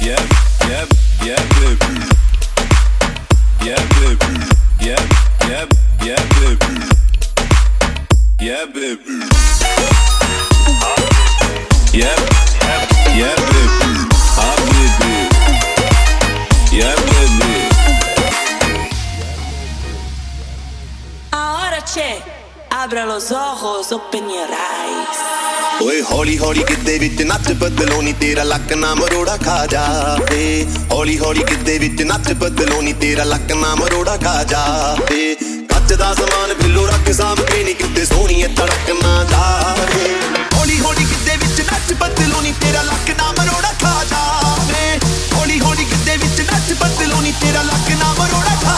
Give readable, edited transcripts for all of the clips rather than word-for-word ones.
Abra los ojos, open your eyes. ਓਏ ਹੌਲੀ ਹੌਲੀ ਕਿੱਦੇ ਵਿੱਚ ਨੱਚ ਬਦਲੋ ਨੀ ਤੇਰਾ ਲੱਕ ਨਾ ਮਰੋੜਾ ਖਾ ਜਾਵੇ ਹੌਲੀ ਹੌਲੀ ਕਿੱਦੇ ਵਿੱਚ ਨੱਚ ਬਦਲੋ ਨੀ ਤੇਰਾ ਲੱਕ ਨਾ ਮਰੋੜਾ ਖਾ ਜਾਵੇ ਕੱਚ ਦਾ ਸਮਾਨ ਬਿੱਲੋ ਰੱਖ ਸਾਂਭ ਕੇ ਨੀ ਕਿਤੇ ਸੋਹਣੀਏ ਤੜਕ ਨਾ ਜਾਵੇ ਹੌਲੀ ਹੌਲੀ ਕਿੱਦੇ ਵਿੱਚ ਨੱਚ ਬਦਲੋ ਨੀ ਤੇਰਾ ਲੱਕ ਨਾ ਮਰੋੜਾ ਖਾ ਜਾਵੇ ਹੌਲੀ ਹੌਲੀ ਕਿੱਦੇ ਵਿੱਚ ਨੱਚ ਬਦਲੋ ਨੀ ਤੇਰਾ ਲੱਕ ਨਾ ਮਰੋੜਾ ਖਾ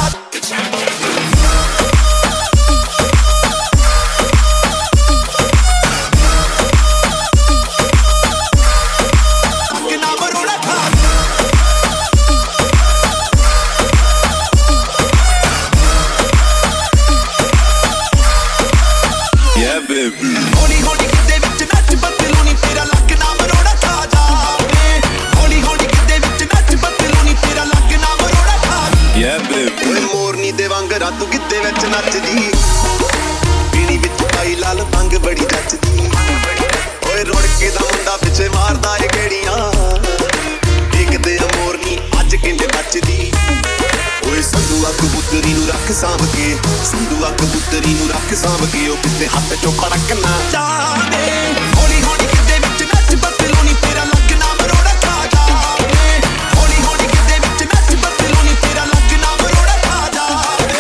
ਹੌਲੀ ਹੌਲੀ ਕਿੱਦੇ ਵਿੱਚ ਨੱਚ ਬਦਲੋ ਨੀ ਤੇਰਾ ਲੱਕ ਨਾ ਮਰੋੜਾ ਖਾ ਜਾਵੇ ਹੌਲੀ ਹੌਲੀ ਕਿੱਦੇ ਵਿੱਚ ਨੱਚ ਬਦਲੋ ਨੀ ਤੇਰਾ ਲੱਕ ਨਾ ਮਰੋੜਾ ਖਾ ਓਏ ਮੋਰਨੀ ਦੇ ਵਾਂਗ ਰਾਤੂ ਕਿੱਦੇ ਵਿੱਚ ਨੱਚਦੀ ਪੀਣੀ ਵਿੱਚ ਪਾਈ ਲਾਲ ਭੰਗ ਬੜੀ ਜੱਚਦੀ ਓਏ ਰੁੜ ਕੇ ਦਾ ਮੁੰਡਾ ਪਿੱਛੇ ਮਾਰਦਾ ਏ ਗੇੜੀਆਂ ਦੇਖਦੇ ਆ ਮੋਰਨੀ ਅੱਜ ਕਿੰਨੇ ਨੱਚਦੀ ਓਏ ਸੰਧੂਆ ਕਬੂਤਰੀ ਨੂੰ ਰੱਖ ਸਾਂਭ ਕੇ ਸੰਧੂਆ ਕਬੂਤਰੀ ਨੂੰ ਰੱਖ ਸਾਂਭ ਕੇ ਉਹ ਕਿਤੇ ਹੱਥ ਚੋਂ ਫੜਕ ਨਾ ਜਾਵੇ ਹੌਲੀ ਹੌਲੀ ਕਿੱਦੇ ਵਿੱਚ ਨੱਚ ਬਦਲੋ ਨੀ ਤੇਰਾ ਲੱਕ ਨਾ ਮਰੋੜਾ ਖਾ ਜਾਵੇ ਹੌਲੀ ਹੌਲੀ ਕਿੱਦੇ ਵਿੱਚ ਨੱਚ ਬਦਲੋ ਨੀ ਤੇਰਾ ਲੱਕ ਨਾ ਮਰੋੜਾ ਖਾ ਜਾਵੇ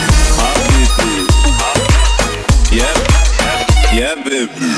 Yeah, baby.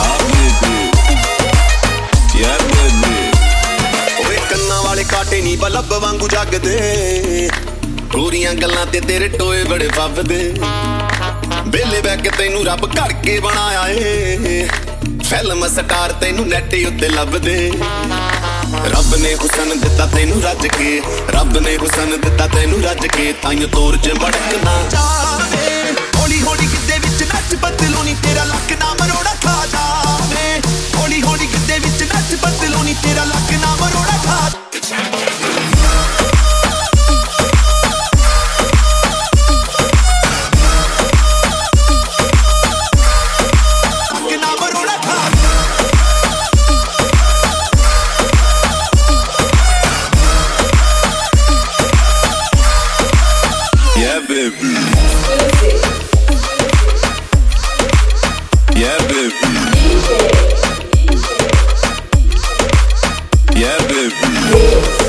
Yeah, baby. ਓਏ ਕੰਨਾਂ ਵਾਲੇ ਕਾਟੇ ਨੀ ਬਲਬ ਵਾਂਗੂ ਜਗਦੇ ਗੋਰੀਆਂ ਗੱਲਾਂ ਤੇ ਤੇਰੇ ਟੋਏ ਬੜੇ ਫੱਬਦੇ ਬੇਲੇ ਬੈ ਕੇ ਤੈਨੂੰ ਰੱਬ ਘੜ ਕੇ ਬਣਾਇਆ ਏ ਫਿਲਮ ਸਟਾਰ ਤੈਨੂੰ ਨੈਟ ਉੱਤੇ ਲੱਭਦੇ ਰੱਬ ਨੇ ਹੁਸਨ ਦਿੱਤਾ ਤੈਨੂੰ ਰੱਜ ਕੇ ਰੱਬ ਨੇ ਹੁਸਨ ਦਿੱਤਾ ਤੈਨੂੰ ਰੱਜ ਕੇ ਤਾਈਂ ਤੋਰ ਚ ਮੜਕ ਨਾ ਜਾਵੇ ਹੌਲੀ ਹੌਲੀ ਕਿੱਦੇ ਵਿੱਚ ਨੱਚ ਬਦਲੋ ਨੀ ਤੇਰਾ ਲੱਕ ਨਾ ਮਰੋੜਾ ਖਾ ਜਾਵੇ ਹੌਲੀ ਹੌਲੀ ਕਿੱਦੇ ਵਿੱਚ ਨੱਚ ਬਦਲੋ ਨੀ ਤੇਰਾ ਲੱਕ ਨਾ ਮਰੋੜਾ ਖਾ Yeah, baby. Yeah, baby. Yeah, baby.